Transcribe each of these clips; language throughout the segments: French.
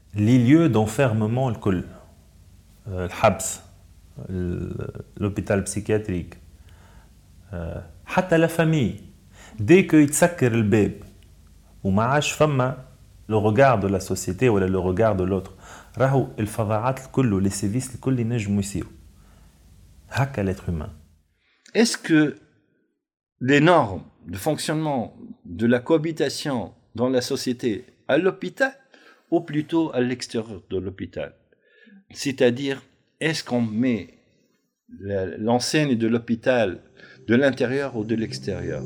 les lieux d'enfermement الكل الحبس l'hôpital psychiatrique حتى la famille dès que يتسكر الباب وما عادش فما le regard de la société ou le regard de l'autre راهو الفظاعات الكل les sévices الكل ينجموا يصيروا هكا l'être humain. Est-ce que les normes de fonctionnement de la cohabitation dans la société à l'hôpital ou plutôt à l'extérieur de l'hôpital, c'est-à-dire est-ce qu'on met l'enseigne de l'hôpital de l'intérieur ou de l'extérieur?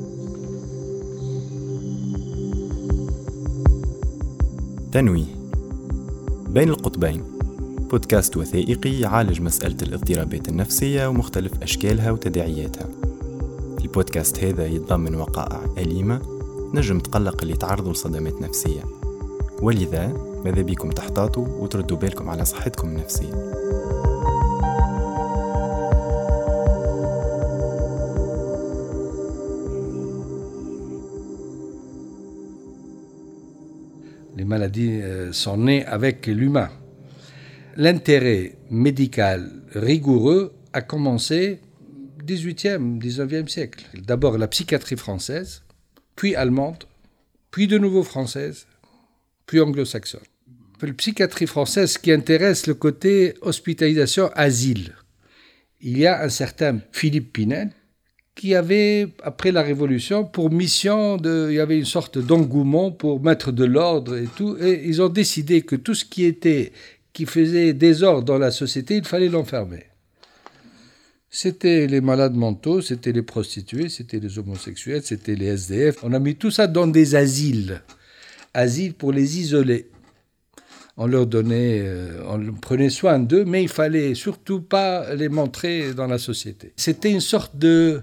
تنويه بين القطبين، بودكاست وثائقي يعالج مسألة الاضطرابات النفسية ومختلف أشكالها وتداعياتها. البودكاست هذا يتضمن وقائع أليمة نجم تقلق اللي تعرضوا لصدمات نفسية، ولذا ماذا بيكم تحتاطوا وتردوا بالكم على صحتكم النفسية. Les maladies sont nées avec l'humain. L'intérêt médical rigoureux a commencé au 18e, 19e siècle. D'abord la psychiatrie française, puis allemande, puis de nouveau française, puis anglo-saxonne. La psychiatrie française, ce qui intéresse le côté hospitalisation-asile. Il y a un certain Philippe Pinel qui avait, après la Révolution, pour mission il y avait une sorte d'engouement pour mettre de l'ordre et tout, et ils ont décidé que tout ce qui faisait désordre dans la société, il fallait l'enfermer. C'était les malades mentaux, c'était les prostituées, c'était les homosexuels, c'était les SDF. On a mis tout ça dans des asiles pour les isoler. On leur donnait, on prenait soin d'eux, mais il fallait surtout pas les montrer dans la société. C'était une sorte de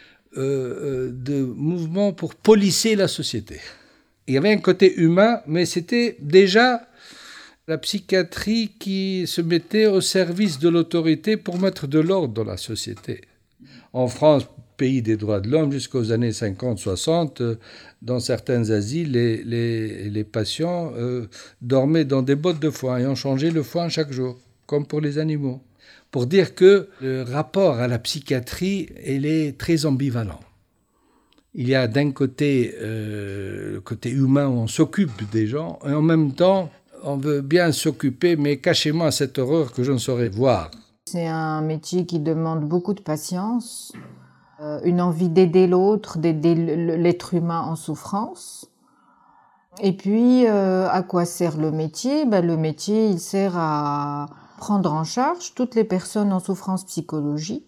mouvement pour policer la société. Il y avait un côté humain, mais c'était déjà la psychiatrie qui se mettait au service de l'autorité pour mettre de l'ordre dans la société. En France, pays des droits de l'homme, jusqu'aux années 50-60, dans certains asiles, les patients dormaient dans des bottes de foin et on changeait le foin chaque jour, comme pour les animaux. Pour dire que le rapport à la psychiatrie, il est très ambivalent. Il y a d'un côté le côté humain où on s'occupe des gens, et en même temps, on veut bien s'occuper, mais cachez-moi cette horreur que je ne saurais voir. C'est un métier qui demande beaucoup de patience, une envie d'aider l'autre, d'aider l'être humain en souffrance. Et puis, à quoi sert le métier ? Le métier, il sert à prendre en charge toutes les personnes en souffrance psychologique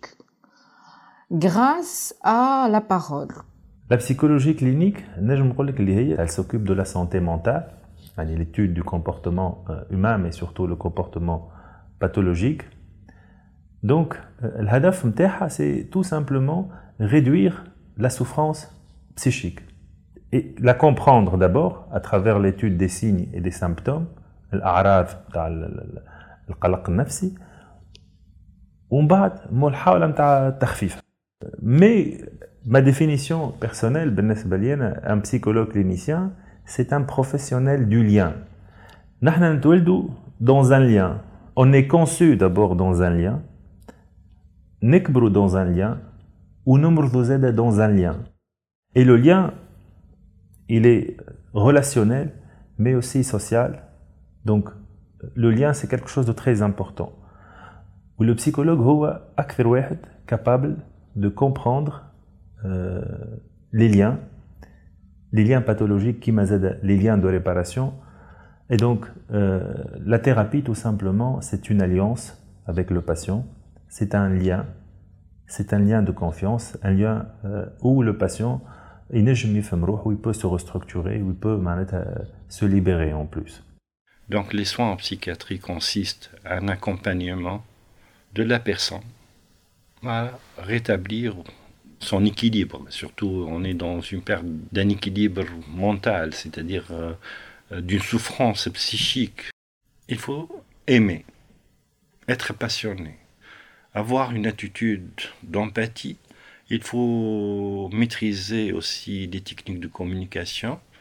grâce à la parole. La psychologie clinique, elle s'occupe de la santé mentale, l'étude du comportement humain, mais surtout le comportement pathologique. Donc, l'hadaf mtaha, c'est tout simplement réduire la souffrance psychique et la comprendre d'abord à travers l'étude des signes et des symptômes, l'a'raf, القلق النفسي ومن بعد محاولة نتاع التخفيف. Mais ma définition personnelle بالنسبة لي أنا un psychologue clinicien c'est un professionnel du lien. نحن نتولدوا dans un lien. On est conçu d'abord dans un lien, نكبروا dans un lien ونمرضوا زادا dans un lien. Et le lien il est relationnel mais aussi social. Donc le lien, c'est quelque chose de très important. Où le psychologue est capable de comprendre les liens pathologiques, les liens de réparation. Et donc, la thérapie, tout simplement, c'est une alliance avec le patient. C'est un lien de confiance, un lien où le patient, où il peut se restructurer, où il peut se libérer en plus. Donc les soins en psychiatrie consistent à un accompagnement de la personne à rétablir son équilibre. Surtout, on est dans une perte d'un équilibre mental, c'est-à-dire d'une souffrance psychique. Il faut aimer, être passionné, avoir une attitude d'empathie. Il faut maîtriser aussi les techniques de communication.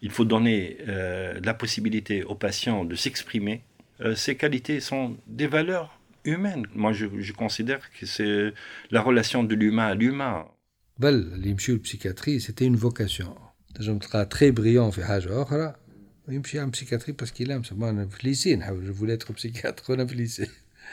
il faut donner la possibilité aux patients de s'exprimer. Ces qualités sont des valeurs humaines. Moi, je considère que c'est la relation de l'humain à l'humain. اللي يمشيو للبسيكاتري c'était une vocation. تنجم تلقى très brillant في حاجة أخرى ويمشي عند psychiatrie parce qu'il aime. أنا في الليسي نحاول je voulais être psychiatre وأنا في الليسي.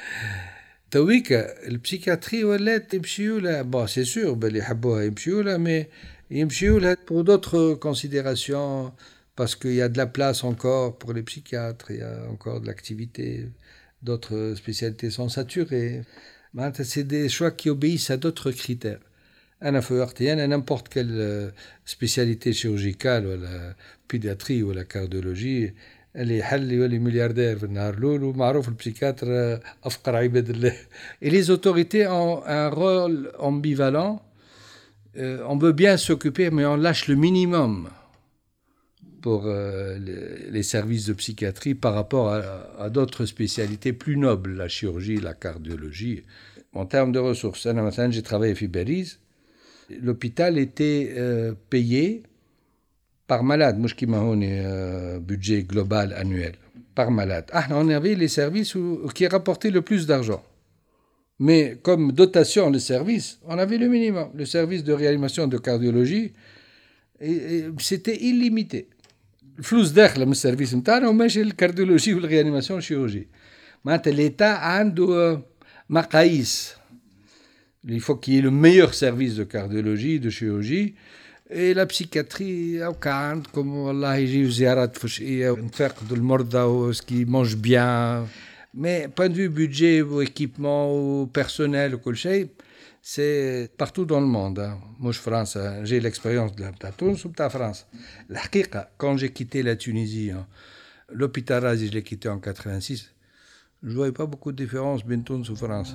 تويكا البسيكاتري ولات يمشيو لها bon c'est sûr باللي يحبوها يمشيو لها mais يمشيو لها pour d'autres considérations parce qu'il y a de la place encore pour les psychiatres, il y a encore de l'activité, d'autres spécialités sont saturées. C'est des choix qui obéissent à d'autres critères. N'importe quelle spécialité chirurgicale ou la pédiatrie ou la cardiologie, اللي يحل يولي ملياردير في النهار الاول ومعروف البسيكاتر افقر عباد الله. Et les autorités ont un rôle ambivalent. On veut bien s'occuper mais on lâche le minimum pour les services de psychiatrie par rapport à d'autres spécialités plus nobles, la chirurgie, la cardiologie. En termes de ressources, j'ai travaillé à Belize. L'hôpital était payé par malade, مش كيما هوني budget global annuel, par malade. On avait les services qui rapportaient le plus d'argent. Mais comme dotation de service, on avait le minimum. Le service de réanimation de cardiologie, et c'était illimité. الفلوس داخله من السيرفيس نتاعنا وماشي الكارديولوجي والريانيماسيون الشيروجي. معناتها l'État عنده مقاييس. Il faut qu'il y ait le meilleur service de cardiologie, de chirurgie. Et la psychiatrie, عندكم والله يجيو زيارات فجئية ونتفقدوا المرضى وce qui mange bien. Mais point de vue budget ou équipement ou personnel ou كل شيء, c'est partout dans le monde. Moi, France, j'ai l'expérience de Tunis ou de France. الحقيقة, quand j'ai quitté la Tunisie, l'hôpital Razi, je l'ai quitté en 86, je ne voyais pas beaucoup de différence entre Tunis ou France.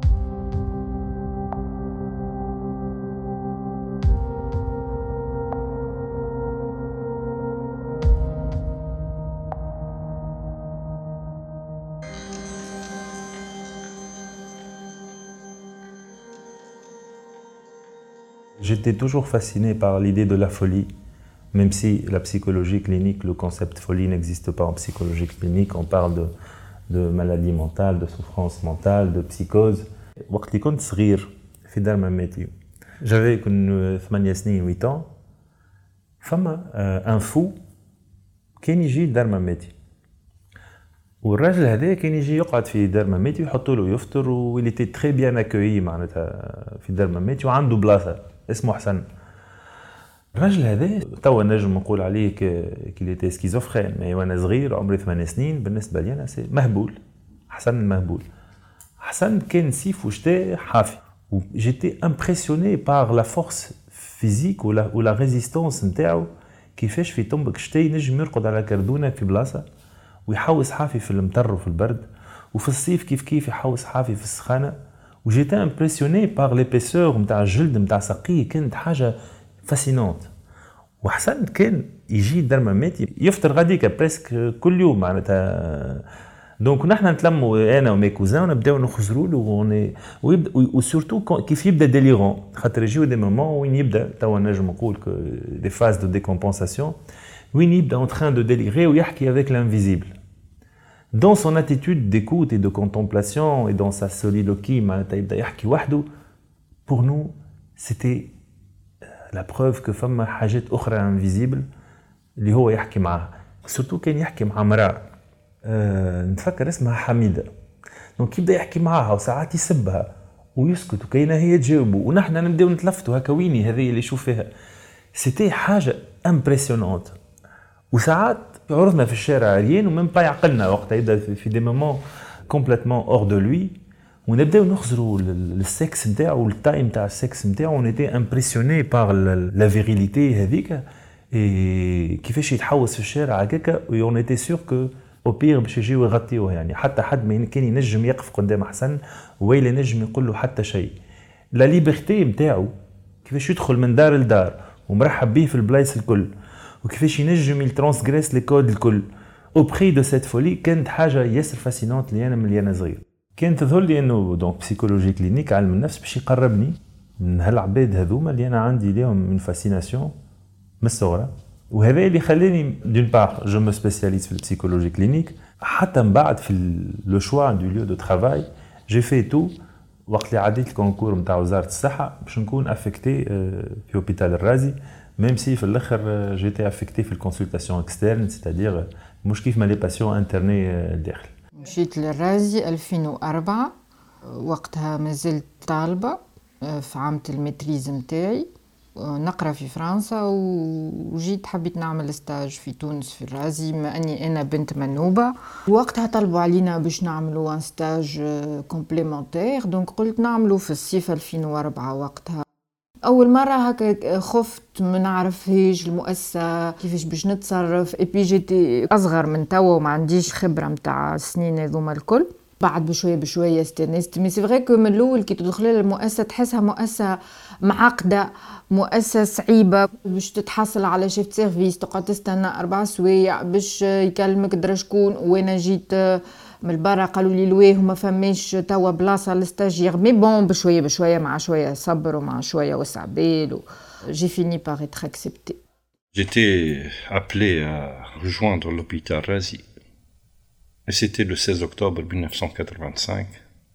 J'étais toujours fasciné par l'idée de la folie, même si la psychologie clinique, le concept folie n'existe pas en psychologie clinique. On parle de maladie mentale, de souffrance mentale, de psychose. وقت اللي كنت صغير في دار ماماتي j'avais 8 سنين 8 ans فما un fou كان يجي لدار ماماتي والراجل هذا كان يجي يقعد في دار ماماتي ويحطوا له يفطر ويلي تي تري بيان اكويي معناتها في دار ماماتي وعنده بلاصه اسمه حسن. الراجل هذا توا نجم نقول عليه كيليتي سكيزوفرين مي وانا صغير عمري 8 سنين بالنسبه لي انا مهبول. حسن المهبول. حسن كان سيف وشتاء حافي. J'étais impressionné par la force physique ou la résistance نتاعو كيفاش في طنبك شتاء ينجم يرقد على كردونه في بلاصه ويحوس حافي في المطر وفي البرد وفي الصيف كيف يحوس حافي في السخانه. وجيت امبرسيوني بار ليبيسور نتاع الجلد نتاع ساقيه كانت حاجه فاسينونت. وحسن كان يجي دار ماماتي يفطر غاديكا بريسك كل يوم معناتها. دونك نحن نتلموا انا ومي كوزان ونبداو نخزروا له وسورتو كيف يبدا ديليغون خاطر يجيو دي مومون وين يبدا توا نجم نقول دي فاز دو ديكومبونساسيون وين يبدا en train de délirer ويحكي avec l'invisible. Dans son attitude d'écoute et de contemplation et dans sa soliloquie, pour nous, c'était la preuve que فما حاجات أخرى invisible اللي هو يحكي معها. Surtout كان يحكي مع امرأة نتفكر اسمها حميدة. Donc يبدأ يحكي معها وساعات يسبها ويسكت وكاينة هي تجاوبه ونحن نبدأ نتلفتوا هكا ويني هذه اللي يشوف فيها. C'était حاجة impressionnante. وساعات عرضنا في الشارع عريان ومن با يعقلنا وقتها يبدا في دي مومون كومبليتمون اور دو لوي ونبداو نخزروا السكس نتاعو والتايم تاع السكس نتاعو ونيتي امبرسيوني بار لا فيريليتي هذيك كيفاش يتحوس في الشارع هكاكا ونيتي سور كو او بير باش يجيو يغطيوه يعني حتى حد ما كان ينجم يقف قدام حسن ولا ينجم يقول له حتى شيء. لا ليبرتي نتاعو كيفاش يدخل من دار لدار ومرحب به في البلايص الكل وكيفاش ينجم يترانسغريس لي كود الكل اوبري دو سيت فولي كانت حاجه ياسر فاسينونت لي انا ملي انا صغير. كانت تظهر لي انه دونك بسيكولوجي كلينيك علم النفس باش يقربني من هالعباد هذوما اللي انا عندي ليهم من فاسيناسيون من الصغرى وهذا اللي خلاني دون بار جو مو سبيسياليست في البسيكولوجي كلينيك حتى من بعد في لو شوا دو ليو دو ترافاي جي في تو وقت اللي عديت الكونكور نتاع وزاره الصحه باش نكون افكتي في اوبيتال الرازي ميم سي في الاخر جيتي افكتي في الكونسلطاسيون اكسترن سيتادير مش كيف ما لي باسيون انترني الداخل. مشيت للرازي 2004 وقتها مازلت طالبه في عامة المتريز متاعي نقرا في فرنسا وجيت حبيت نعمل ستاج في تونس في الرازي ما اني انا بنت منوبه وقتها طلبوا علينا باش نعملوا ان ستاج كومبليمونتير دونك قلت نعملوا في الصيف 2004 وقتها اول مره هكا خفت ما نعرفهاش المؤسسه كيفاش باش نتصرف اي بي جيتي اصغر من توا وما عنديش خبره نتاع السنين هذوما الكل بعد بشويه استنست مي سي فري كو من الاول كي تدخل للمؤسسه تحسها مؤسسه معقده مؤسسه صعيبه باش تتحصل على شيفت سيرفيس تقعد تستنى 4 سوايع باش يكلمك درا شكون وانا جيت من البرا قالوا لي لويه وما فماش توا بلاصه للستاجير مي بون بشويه مع شويه صبر ومع شويه وسع بال جي فيني بار اتر اكسبتي. J'étais appelé à rejoindre l'hôpital Razi. Et c'était le 16 octobre 1985,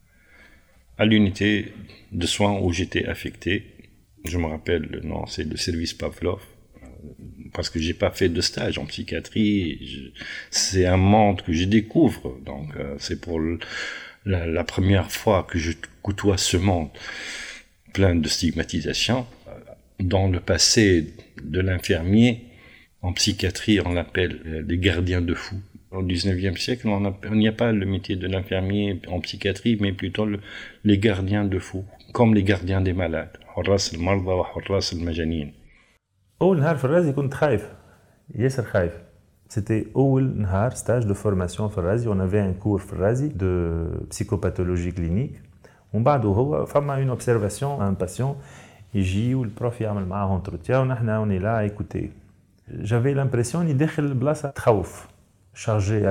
à l'unité de soins où j'étais affecté. Je me rappelle le nom, c'est le service Pavlov, parce que j'ai pas fait de stage en psychiatrie. C'est un monde que je découvre, donc c'est pour la première fois que je côtoie ce monde plein de stigmatisation. Dans le passé de l'infirmier, en psychiatrie, on l'appelle les gardiens de fous. Au 19e siècle, il n'y a pas le métier de l'infirmier en psychiatrie, mais plutôt les gardiens de fous, comme les gardiens des malades. حراس المرضى وحراس المجانين. أول نهار في الرازي كنت خايف ياسر خايف. C'était أول نهار stage de formation في الرازي. On avait un cours في الرازي de psychopathologie clinique. ومن بعد هو فما une observation un patient يجي والبروف يعمل معاه entretien ونحن on est là à écouter. J'avais l'impression إني داخل البلاصة تخوف. Chargé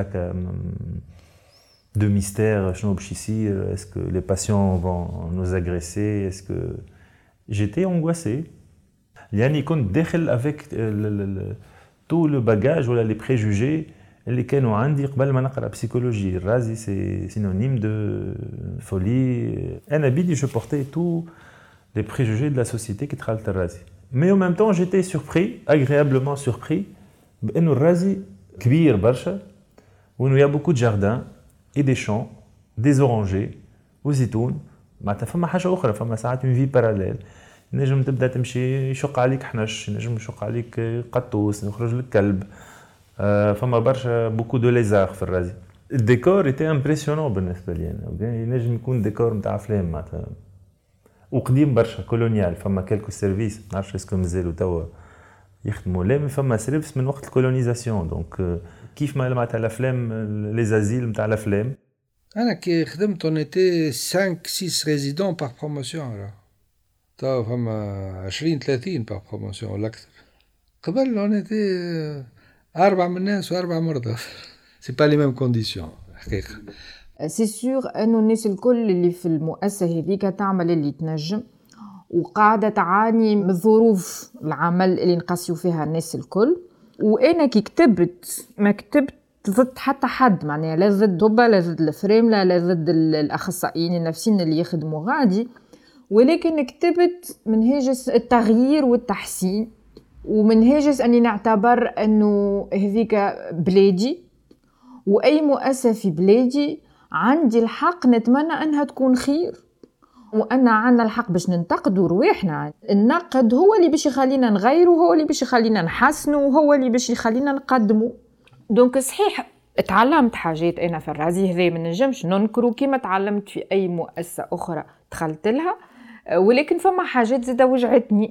de mystère, est-ce que les patients vont nous agresser, est-ce que j'étais angoissé. يعني كنت داخل avec tout le bagage ولا les préjugés اللي كانوا عندي قبل ما نقرا psychologie. الرازي c'est synonyme de folie. أنا بيدي je portais tous les préjugés de la société qui دخلت الرازي. Mais en même temps j'étais surpris, agréablement surpris بأنه الرازي كبير برشا وانه يا بوكو جاردان اي دي شون دي اورانجي وزيتون معناتها فما حاجه اخرى فما ساعات اون في باراليل نجم تبدا تمشي يشق عليك حنش نجم يشق عليك قطوس يخرج لك كلب فما برشا بوكو دو ليزار في الرازي. الديكور ايتي امبرسيونون بالنسبه لي انا ينجم يكون ديكور نتاع افلام معناتها وقديم برشا كولونيال فما كلكو سيرفيس ما نعرفش اسكو مازالوا توا يخدموا لا مي فما سيرفيس من وقت الكولونيزاسيون دونك كيف ما معناتها الافلام لي زازيل نتاع الافلام. انا كي خدمت اون ايتي 5 6 ريزيدون بار بروموسيون تو فما 20 30 بار بروموسيون ولا اكثر. قبل اون ايتي 4 من الناس و4 مرضى سي با لي ميم كونديسيون حقيقه. سي سور انه الناس الكل اللي في المؤسسه هذيك تعمل اللي تنجم وقاعده تعاني من ظروف العمل اللي نقاسيو فيها الناس الكل. وانا كي كتبت ما كتبت ضد حتى حد معناها لا ضد دبا لا ضد الفريمله لا ضد الاخصائيين النفسيين اللي يخدموا غادي ولكن كتبت من هاجس التغيير والتحسين ومن هاجس اني نعتبر انه هذيك بلادي واي مؤسسه في بلادي عندي الحق نتمنى انها تكون خير وأنا عنا الحق باش ننتقدوا رواحنا. النقد هو اللي باش يخلينا نغيروا هو اللي باش يخلينا نحسنوا وهو اللي باش يخلينا نقدموا. دونك صحيح اتعلمت حاجات أنا في الرازي هذا ما نجمش ننكروا كما تعلمت في أي مؤسسة أخرى دخلت لها ولكن فما حاجات زادة وجعتني.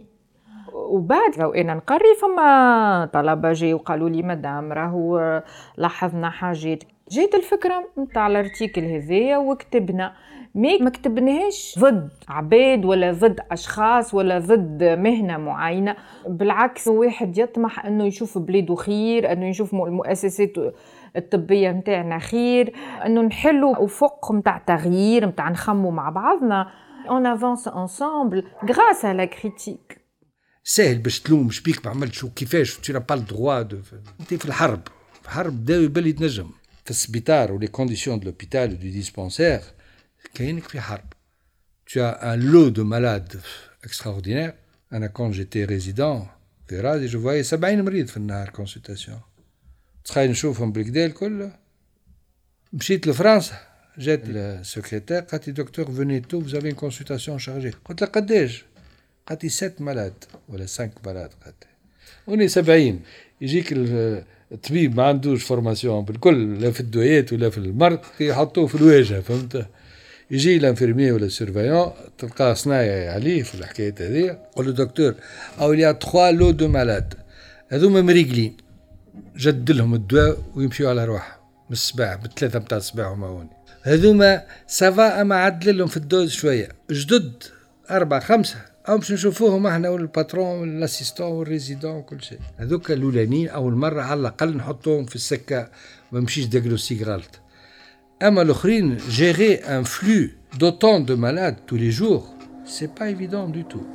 وبعد وأنا نقري فما طلبة جاي وقالوا لي مدام راهو لاحظنا حاجات جيت الفكرة متاع الارتيكل هذايا وكتبنا ما كتبناهاش ضد عباد ولا ضد أشخاص ولا ضد مهنة معينة بالعكس واحد يطمح أنه يشوف بلاده خير أنه يشوف المؤسسات الطبية متاعنا خير أنه نحلوا أفق متاع تغيير متاع نخموا مع بعضنا on avance ensemble grâce à la critique. سهل باش تلوم شبيك ما عملتش وكيفاش tu n'as pas le droit de انت في الحرب داوي يبلي تنجم في السبيطار ولي كونديسيون دو لوبيتال دو ديسبانسير كاينك في حرب tu as un lot de malades extraordinaire انا quand j'étais résident في رادي je voyais 70 مريض في النهار كونسلتاسيون تخيل نشوفهم بالكدا الكل مشيت لفرنسا جات السكرتير قالت لي دكتور venez tôt vous avez une consultation chargée قلت لها قداش قالت لي 7 مالاد ولا 5 مالاد قالت وني 70 يجيك الطبيب ما عندوش فورماسيون بالكل لا في الدويات ولا في المرض يحطوه في الواجهه فهمت يجي الانفيرمي ولا السيرفيون تلقاه صنايعي عليه في الحكايه هذه قول له دكتور او il y a 3 لو دو مالاد هذوما مريقلين جد لهم الدواء ويمشيوا على روحهم من الصباح بالثلاثه نتاع الصباح وما هوني هذوما سافا اما عدل لهم في الدوز شويه جدد 4 5 او باش نشوفوهم احنا والباترون والاسيستون والريزيدون وكل شيء هذوك الاولانيين اول مره على الاقل نحطوهم في السكه ما نمشيش دياغنوستيك غلط اما الاخرين جيري ان فلو d'autant de malades tous les jours c'est pas évident du tout.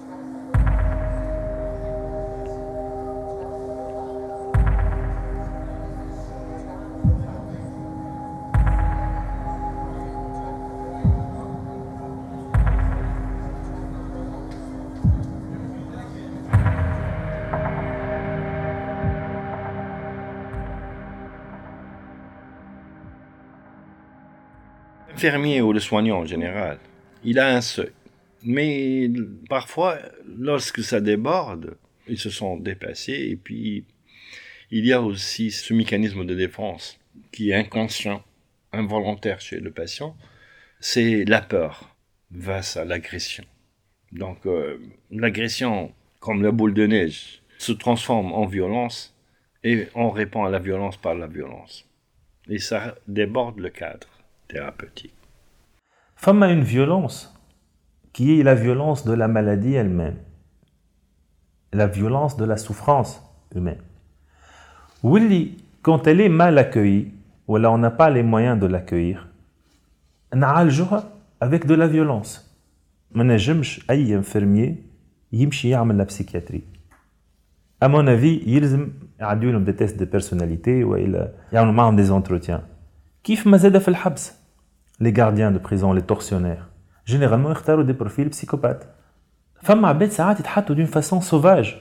L'infirmier ou le soignant en général, il a un seuil. Mais parfois, lorsque ça déborde, ils se sont dépassés. Et puis, il y a aussi ce mécanisme de défense qui est inconscient, involontaire chez le patient. C'est la peur face à l'agression. Donc, l'agression, comme la boule de neige, se transforme en violence et on répond à la violence par la violence. Et ça déborde le cadre thérapeutique. Femme a une violence qui est la violence de la maladie elle-même, la violence de la souffrance humaine. Oui, quand elle est mal accueillie, ou là on n'a pas les moyens de l'accueillir, on a le avec de la violence. ما نجمش أي infirmier يمشي يعمل la psychiatrie. À mon avis, يلزم يعدوا لهم des tests de personnalité وإلا يعملوا معهم des entretiens. كيف ما زاد في الحبس les gardiens de prison, les tortionnaires, généralement يختاروا des profils psychopathes. فما عباد ساعات يتحطوا d'une façon sauvage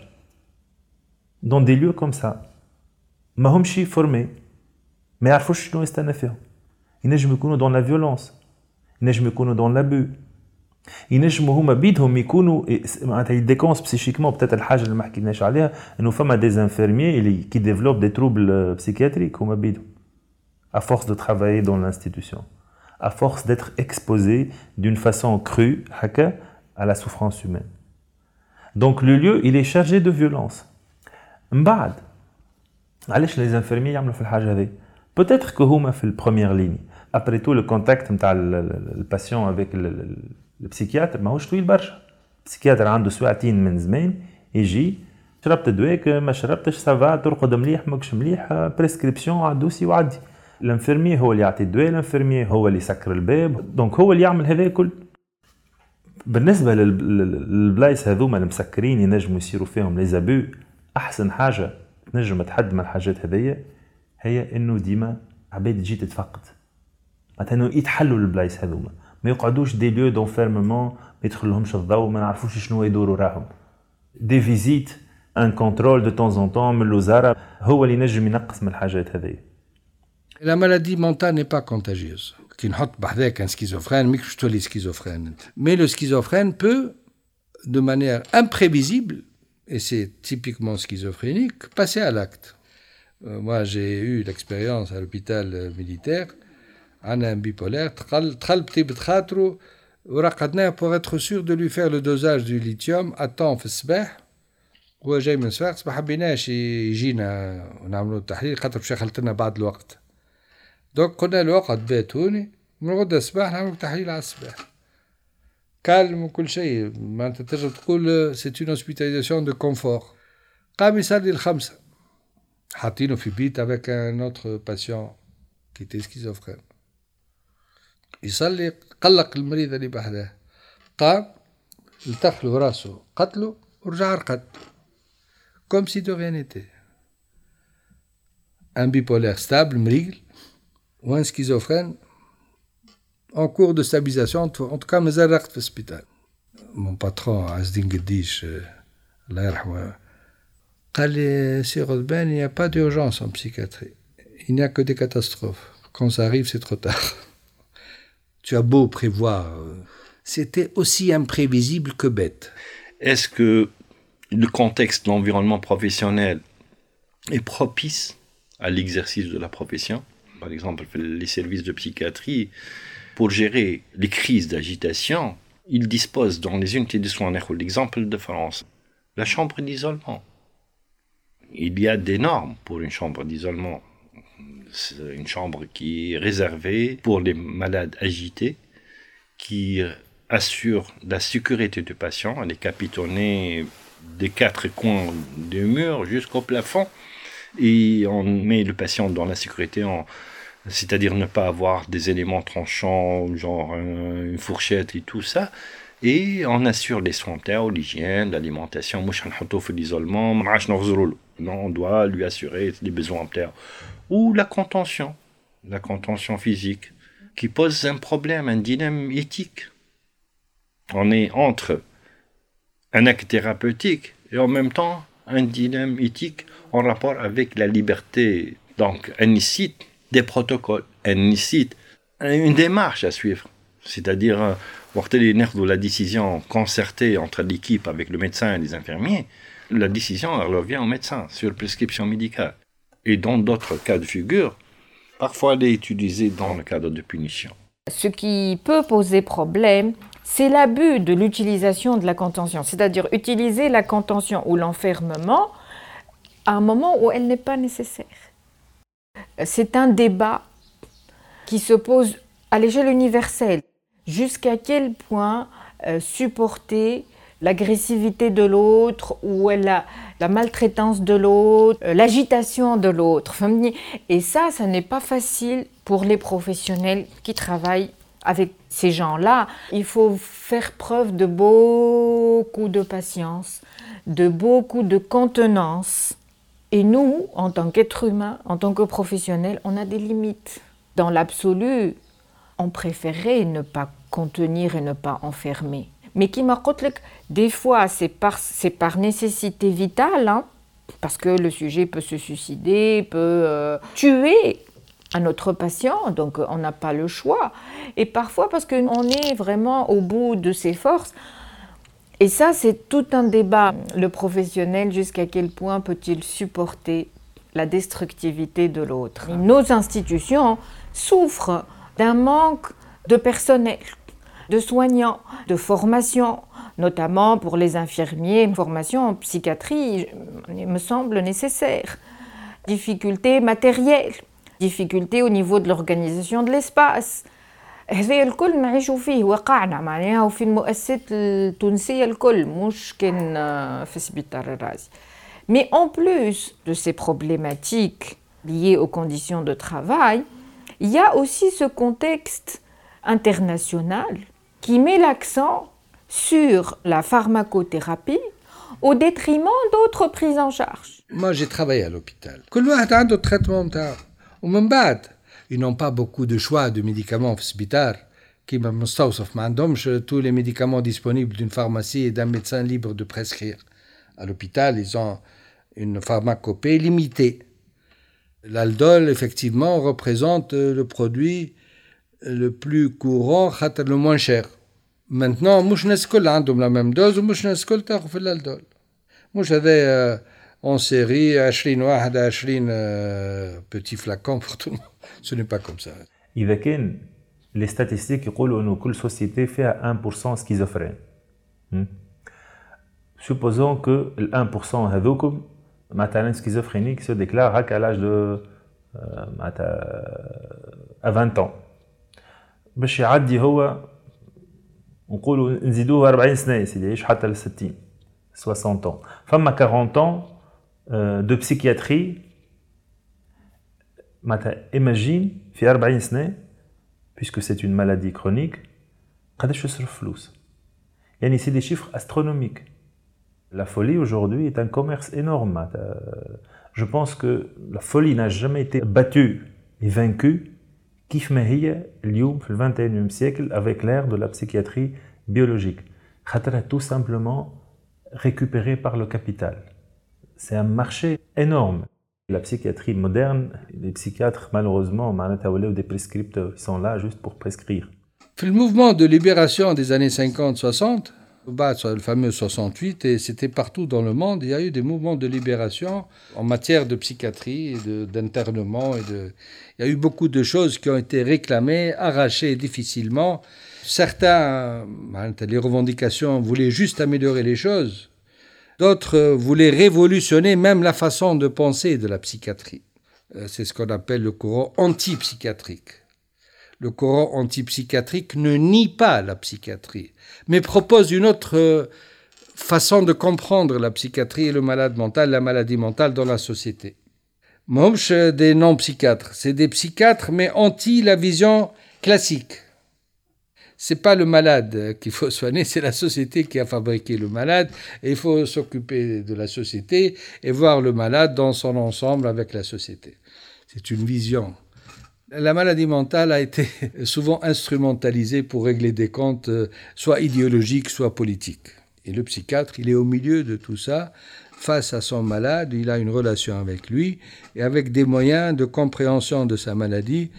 dans des lieux comme ça. ما همش formés, ما يعرفوش شنو يستنى فيهم. ينجموا يكونوا dans la violence, ينجموا يكونوا dans l'abus. ينجموا هما بيدهم يكونوا معناتها يديكونس بسيشيكمون peut-être الحاجه اللي ما حكيناش عليها انه فما des infirmiers اللي qui développent des troubles psychiatriques هما بيدهم. À force de travailler dans l'institution, à force d'être exposé d'une façon crue à la souffrance humaine. Donc le lieu, il est chargé de violence. بعد علاش les infirmiers يعملوا في الحاجة هذه؟ Peut-être que هما في première ligne. Après tout, le contact نتاع le patient avec le psychiatre ماهوش طويل برشا. البسيكياتر عنده ساعتين من زمان يجي شربت دواك ما شربتش سافا ترقد مليح ماكش مليح بريسكريبسيون عدوسي وعدي. الانفيرمي هو اللي يعطي الدواء، الانفيرمي هو اللي يسكر الباب، دونك هو اللي يعمل هذا الكل. بالنسبه للبلايص هذوما المسكرين ينجموا يصيروا فيهم لي زابو، احسن حاجه تنجم تحد من الحاجات هذيا هي انه ديما عباد تجي تتفقد، معناتها انه يتحلوا البلايص هذوما، ما يقعدوش دي ليو دونفيرممون ما يدخلهمش الضوء، ما نعرفوش شنو يدوروا راهم. دي فيزيت ان كونترول دو طون ان طون من الوزاره هو اللي ينجم ينقص من الحاجات هذيا. La maladie mentale n'est pas contagieuse. Qui n'hot bardek un schizophrène, mais que les schizophrènes. Mais le schizophrène peut, de manière imprévisible, et c'est typiquement schizophrénique, passer à l'acte. Moi, j'ai eu l'expérience à l'hôpital militaire. Un bipolaire, tral petit betratro, pour être sûr de lui faire le dosage du lithium à temps في الصباح. هو جاي من الصباح ما حبيناش يجينا ونعملوا التحليل خاطر باش يخلطنا بعد الوقت. دوك قلنا له اقعد باتوني من غدا الصباح نعمل تحليل على الصباح كالم وكل شيء. ما انت تقدر تقول سي اون هوسبيتاليزاسيون دو كونفور. قام يصلي الخمسة حاطينه في بيت افيك ان اوتر باسيون كي تي سكيزوفرين. يصلي قلق المريض اللي بحذاه، قام التف له راسه قتله ورجع رقد. comme si de rien n'était. Un bipolaire stable, mrigle, ou un schizophrène en cours de stabilisation, en tout cas, mais à l'hôpital. Mon patron, Azdin Gedish, Allah yarhamou, قال لي سي غضبان, il n'y a pas d'urgence en psychiatrie. Il n'y a que des catastrophes. Quand ça arrive, c'est trop tard. Tu as beau prévoir, c'était aussi imprévisible que bête. Est-ce que le contexte de l'environnement professionnel est propice à l'exercice de la profession? Par exemple, les services de psychiatrie, pour gérer les crises d'agitation, ils disposent dans les unités de soins, l'exemple de France, la chambre d'isolement. Il y a des normes pour une chambre d'isolement. C'est une chambre qui est réservée pour les malades agités, qui assure la sécurité du patient. Elle est capitonnée des 4 coins du mur jusqu'au plafond. Et on met le patient dans la sécurité, c'est-à-dire ne pas avoir des éléments tranchants, genre une fourchette et tout ça. Et on assure les soins internes, l'hygiène, l'alimentation. L'isolement, on doit lui assurer les besoins internes. Ou la contention physique, qui pose un problème, un dilemme éthique. On est entre un acte thérapeutique et en même temps un dilemme éthique en rapport avec la liberté. Donc, elle nécessite des protocoles, elle nécessite une démarche à suivre. C'est-à-dire, la décision concertée entre l'équipe avec le médecin et les infirmiers, la décision elle revient au médecin sur prescription médicale. Et dans d'autres cas de figure, parfois elle est utilisée dans le cadre de punition. Ce qui peut poser problème, c'est l'abus de l'utilisation de la contention, c'est-à-dire utiliser la contention ou l'enfermement à un moment où elle n'est pas nécessaire. C'est un débat qui se pose à l'échelle universelle. Jusqu'à quel point supporter l'agressivité de l'autre ou la maltraitance de l'autre, l'agitation de l'autre. Et ça n'est pas facile pour les professionnels qui travaillent avec ces gens-là. Il faut faire preuve de beaucoup de patience, de beaucoup de contenance. Et nous, en tant qu'êtres humains, en tant que professionnels, on a des limites. Dans l'absolu, on préférerait ne pas contenir et ne pas enfermer. Mais qui m'a dit, des fois, c'est par nécessité vitale, hein, parce que le sujet peut se suicider, peut tuer un autre patient, donc on n'a pas le choix. Et parfois parce qu'on est vraiment au bout de ses forces. Et ça, c'est tout un débat. Le professionnel, jusqu'à quel point peut-il supporter la destructivité de l'autre? Nos institutions souffrent d'un manque de personnel, de soignants, de formation, notamment pour les infirmiers. Une formation en psychiatrie me semble nécessaire. Difficultés matérielles, difficultés au niveau de l'organisation de l'espace. هذا الكل نعيشوا فيه واقعنا معناها وفي المؤسسات التونسية الكل مش كان في سبيطار الرازي. Mais en plus de ces problématiques liées aux conditions de travail, il y a aussi ce contexte international qui met l'accent sur la pharmacothérapie au détriment d'autres prises en charge. Moi, j'ai travaillé à l'hôpital. كل واحد عنده traitement نتاعو. ومن بعد ils n'ont pas beaucoup de choix de médicaments في السبيطار كيما مستوصف ما عندهمش tous les médicaments disponibles d'une pharmacie et d'un médecin libre de prescrire. À l'hôpital, ils ont une pharmacopée limitée. L'aldol, effectivement, représente le produit le plus courant, le moins cher. Maintenant, مش الناس الكل عندهم la même dose ومش الناس الكل تاخذ في الaldol. مش هذا en série 20 واحد 20 petits flacons pour tout le monde. Ce n'est pas comme ça. إذا كان les statistiques يقولوا إنه كل société فيها 1% schizophrène. Supposons que le 1% هذوكم مثلا schizophrénique se déclare à l'âge de à 20 ans. باش يعدي هو نقولوا نزيدوه 40 سنة يسيدي يعيش حتى ل 60 60 ans. فما 40 ans de psychiatrie. Imagine, في 40 سنة, puisque c'est une maladie chronique, قداش يصرف فلوس. يعني c'est des chiffres astronomiques. La folie aujourd'hui est un commerce énorme. Je pense que la folie n'a jamais été battue et vaincue كيف ما هي اليوم في 21e siècle avec l'ère de la psychiatrie biologique. خاطرها tout simplement récupérée par le capital. C'est un marché énorme. La psychiatrie moderne, les psychiatres malheureusement des prescripteurs, ils sont là juste pour prescrire. Le mouvement de libération des années 50-60, le fameux 68, et c'était partout dans le monde, il y a eu des mouvements de libération en matière de psychiatrie, et d'internement. Il y a eu beaucoup de choses qui ont été réclamées, arrachées difficilement. Certains, les revendications voulaient juste améliorer les choses. D'autres voulaient révolutionner même la façon de penser de la psychiatrie. C'est ce qu'on appelle le courant antipsychiatrique. Le courant antipsychiatrique ne nie pas la psychiatrie, mais propose une autre façon de comprendre la psychiatrie et le malade mental, la maladie mentale dans la société. Momch des non-psychiatres, c'est des psychiatres mais anti la vision classique. C'est pas le malade qu'il faut soigner, c'est la société qui a fabriqué le malade et il faut s'occuper de la société et voir le malade dans son ensemble avec la société. C'est une vision. La maladie mentale a été souvent instrumentalisée pour régler des comptes, soit idéologiques, soit politiques. Et le psychiatre, il est au milieu de tout ça, face à son malade, il a une relation avec lui, et avec des moyens de compréhension de sa maladie,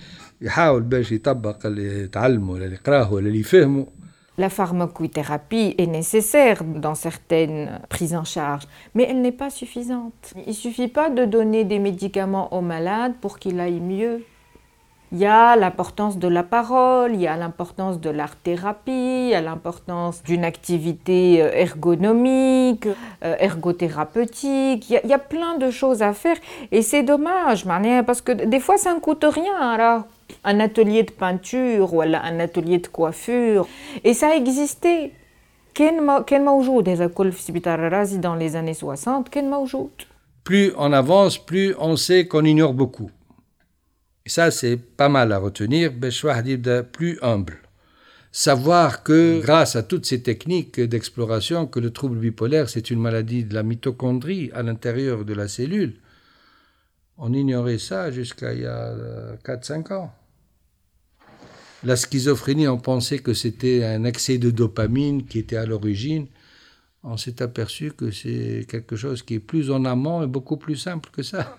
La pharmacothérapie est nécessaire dans certaines prises en charge, mais elle n'est pas suffisante. Il ne suffit pas de donner des médicaments au malade pour qu'il aille mieux. Il y a l'importance de la parole, il y a l'importance de l'art-thérapie, il y a l'importance d'une activité ergonomique, ergothérapeutique. Il y a plein de choses à faire et c'est dommage, parce que des fois ça ne coûte rien. Alors, un atelier de peinture ou un atelier de coiffure, et ça existait. كان موجود هذا كل في سبيطار الرازي dans les années 60 كان موجود. Plus on avance, plus on sait qu'on ignore beaucoup. Et ça, c'est pas mal à retenir, plus humble. Savoir que, grâce à toutes ces techniques d'exploration, que le trouble bipolaire, c'est une maladie de la mitochondrie à l'intérieur de la cellule. On ignorait ça jusqu'à il y a 4-5 ans. La schizophrénie, on pensait que c'était un excès de dopamine qui était à l'origine. On s'est aperçu que c'est quelque chose qui est plus en amont et beaucoup plus simple que ça.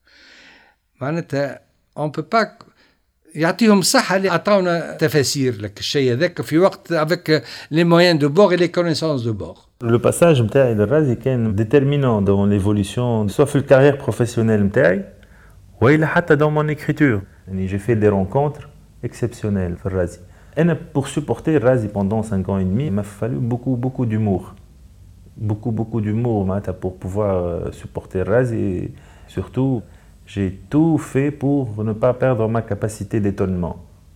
On ne peut pas يعطيهم الصحة اللي عطاونا تفاسير لك الشيء هذاك في وقت avec les moyens de bord et les connaissances de bord. Le passage نتاعي للرازي كان déterminant dans l'évolution soit في الكارير professionnelle نتاعي وإلا حتى dans mon écriture. يعني j'ai fait des rencontres exceptionnelles في الرازي. أنا pour supporter الرازي pendant 5 ans et demi, il m'a fallu beaucoup d'humour. Beaucoup d'humour pour pouvoir supporter الرازي et surtout j'ai tout fait pour ne pas perdre ma capacité d'étonnement.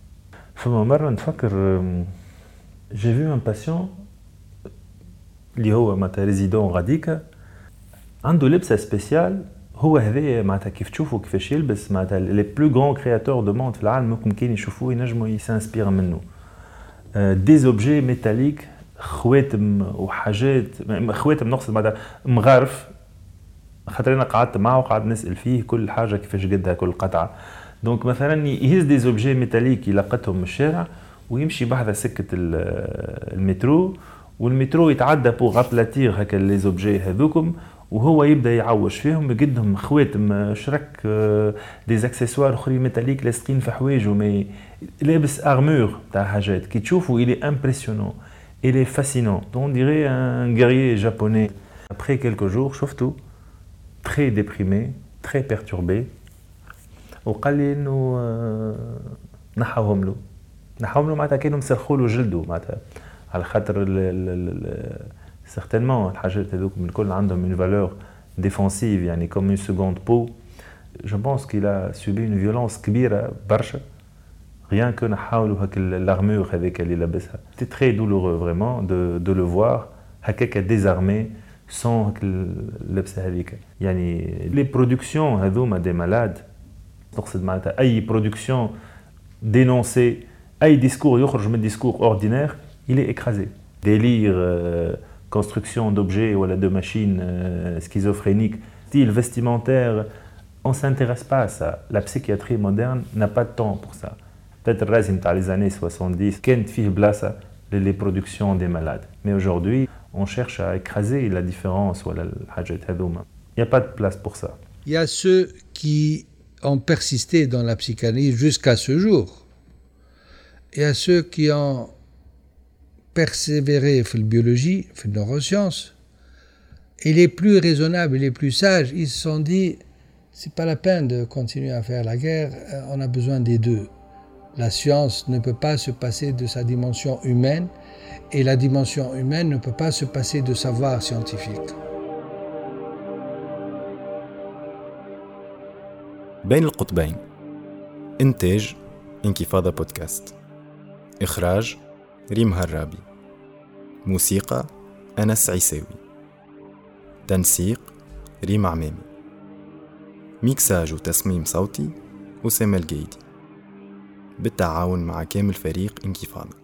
J'ai vu un patient, qui est résident Radika, عنده لبسة spéciale. هو هذا معناتها كيف تشوفوا كيفاش يلبس معناتها les plus grands créateurs de monde في العالم ممكن كان يشوفوه ينجموا يسانسبير منه. Des objets métalliques, خواتم وحاجات، خواتم نقصد معناتها مغارف. خاطر انا قعدت معه وقعد نسال فيه كل حاجه كيفاش قدها كل قطعه. دونك مثلا يهز دي زوبجي ميتاليك يلقطهم من الشارع ويمشي بحذا سكه المترو، والمترو يتعدى بوغ ابلاتير هكا لي زوبجي هذوكم وهو يبدا يعوش فيهم يقدهم خواتم شرك دي زاكسيسوار اخرين ميتاليك لاصقين في حوايجه مي لابس ارمور تاع حاجات كي تشوفوا il est impressionnant, il est fascinant. On dirait un guerrier japonais. Après quelques jours شفته très déprimé, très perturbé. وقال لي انه نحاهم له معناتها كانوا مسرخوا له جلده معناتها على خاطر certainement الحاجات هذوك من الكل عندهم une valeur défensive يعني comme une seconde peau. Je pense qu'il a subi une violence كبيرة برشا rien que نحاو له هاك l'armure هذيك اللي لابسها. C'était très douloureux vraiment de le voir هكاك désarmé sans اللبسه هذيك. يعني les productions هذوما des malades نقصد معناتها اي production dénoncée اي discours يخرج من discours ordinaire il est écrasé. Délire construction d'objets ou de machines schizophréniques, style vestimentaire, on ne s'intéresse pas à ça. La psychiatrie moderne n'a pas de temps pour ça. Peut-être dans les années 70, كانت فيه بلاصة les productions des malades. Mais aujourd'hui, on cherche à écraser la différence. Il n'y a pas de place pour ça. Il y a ceux qui ont persisté dans la psychanalyse jusqu'à ce jour. Il y a ceux qui ont persévéré dans la biologie, dans les neurosciences. Et les plus raisonnables, les plus sages, ils se sont dit, c'est pas la peine de continuer à faire la guerre, on a besoin des deux. La science ne peut pas se passer de sa dimension humaine et la dimension humaine ne peut pas se passer de savoir scientifique. بين القطبين. إنتاج انكفاضة بودكاست. إخراج ريم هرابي. موسيقى أنس عيساوي. تنسيق ريم عمامي. ميكساج وتصميم صوتي أسامة الجيدي بالتعاون مع كامل فريق انكفاضة.